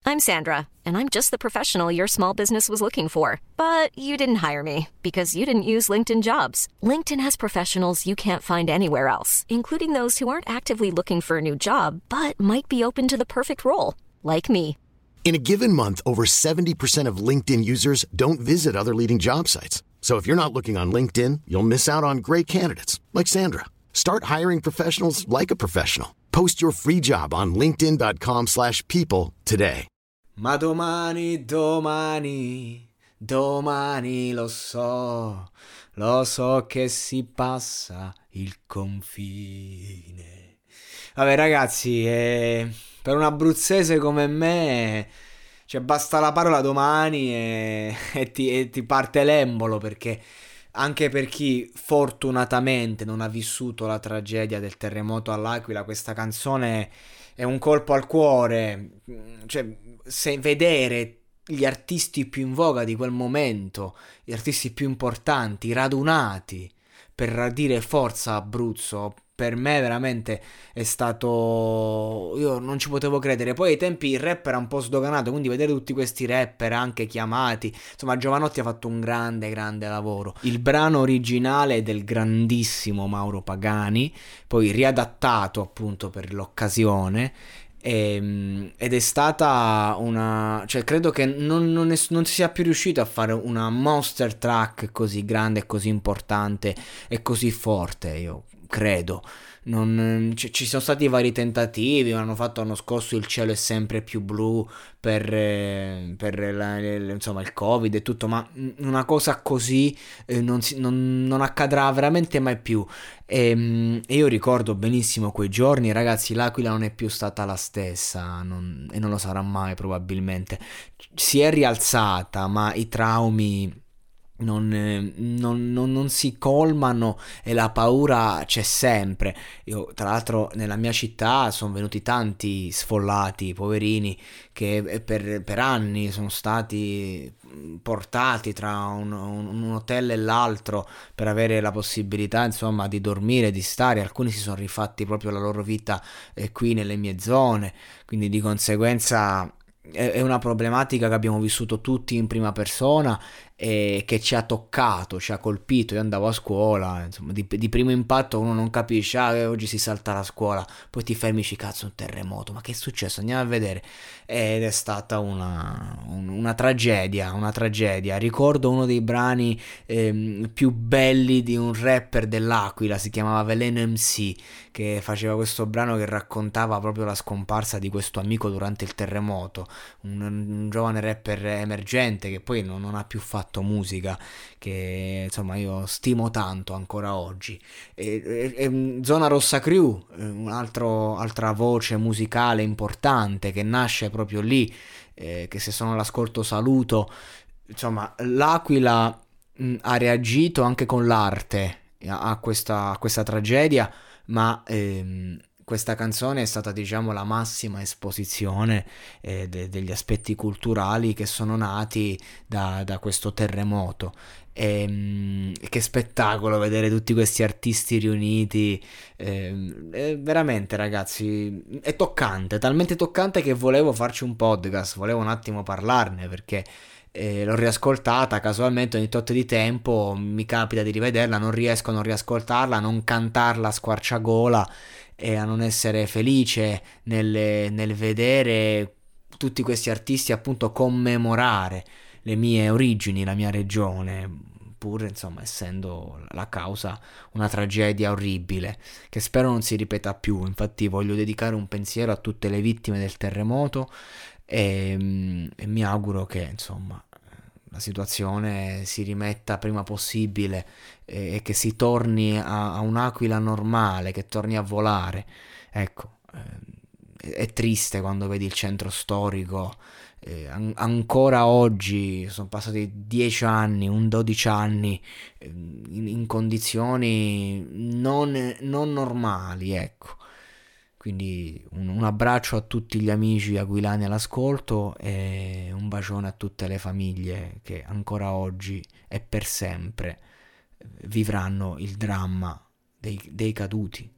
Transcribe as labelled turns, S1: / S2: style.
S1: I'm Sandra, and I'm just the professional your small business was looking for. But you didn't hire me because you didn't use LinkedIn Jobs. LinkedIn has professionals you can't find anywhere else, including those who aren't actively looking for a new job, but might be open to the perfect role, like me.
S2: In a given month, over 70% of LinkedIn users don't visit other leading job sites. So if you're not looking on LinkedIn, you'll miss out on great candidates like Sandra. Start hiring professionals like a professional. Post your free job on linkedin.com/people today.
S3: Ma domani lo so che si passa il confine. Vabbè ragazzi, per un abruzzese come me, cioè basta la parola domani e ti parte l'embolo, perché anche per chi fortunatamente non ha vissuto la tragedia del terremoto all'Aquila, questa canzone è un colpo al cuore. Cioè, se vedere gli artisti più in voga di quel momento, gli artisti più importanti, radunati per dire forza Abruzzo, per me veramente è stato... io non ci potevo credere. Poi ai tempi il rap era un po' sdoganato, quindi vedere tutti questi rapper anche chiamati, insomma Giovanotti ha fatto un grande lavoro. Il brano originale è del grandissimo Mauro Pagani, poi riadattato appunto per l'occasione, ed è stata una... cioè credo che non si sia più riuscito a fare una monster track così grande, così importante e così forte, io credo. Ci sono stati vari tentativi, hanno fatto l'anno scorso Il cielo è sempre più blu per insomma il Covid e tutto, ma una cosa così non accadrà veramente mai più. E io ricordo benissimo quei giorni, ragazzi. L'Aquila non è più stata la stessa, e non lo sarà mai probabilmente. Si è rialzata, ma i traumi non si colmano e la paura c'è sempre. Io tra l'altro nella mia città sono venuti tanti sfollati, poverini, che per anni sono stati portati tra un hotel e l'altro per avere la possibilità insomma di dormire, di stare. Alcuni si sono rifatti proprio la loro vita qui nelle mie zone, quindi di conseguenza è una problematica che abbiamo vissuto tutti in prima persona e che ci ha toccato, ci ha colpito. Io andavo a scuola, insomma, di primo impatto uno non capisce, oggi si salta la scuola, poi ti fermi, cazzo, un terremoto, ma che è successo? Andiamo a vedere. Ed è stata una tragedia. Ricordo uno dei brani più belli di un rapper dell'Aquila, si chiamava Veleno MC, che faceva questo brano che raccontava proprio la scomparsa di questo amico durante il terremoto, un giovane rapper emergente che poi non ha più fatto musica, che insomma io stimo tanto ancora oggi. Zona Rossa Crew, altra voce musicale importante che nasce proprio lì, che se sono all'ascolto saluto. Insomma, l'Aquila ha reagito anche con l'arte a questa tragedia, ma questa canzone è stata, diciamo, la massima esposizione degli aspetti culturali che sono nati da questo terremoto. Che spettacolo vedere tutti questi artisti riuniti, veramente ragazzi, è toccante, talmente toccante che volevo farci un podcast, volevo un attimo parlarne, perché l'ho riascoltata casualmente ogni tot di tempo, mi capita di rivederla, non riesco a non riascoltarla, a non cantarla a squarciagola e a non essere felice nel vedere tutti questi artisti appunto commemorare le mie origini, la mia regione, pur insomma essendo la causa una tragedia orribile che spero non si ripeta più. Infatti voglio dedicare un pensiero a tutte le vittime del terremoto e mi auguro che insomma la situazione si rimetta prima possibile e che si torni a un'Aquila normale, che torni a volare. Ecco, è triste quando vedi il centro storico, ancora oggi, sono passati 10 anni, 12 anni, in condizioni non normali, ecco. Quindi un abbraccio a tutti gli amici aquilani all'ascolto e un bacione a tutte le famiglie che ancora oggi e per sempre vivranno il dramma dei caduti.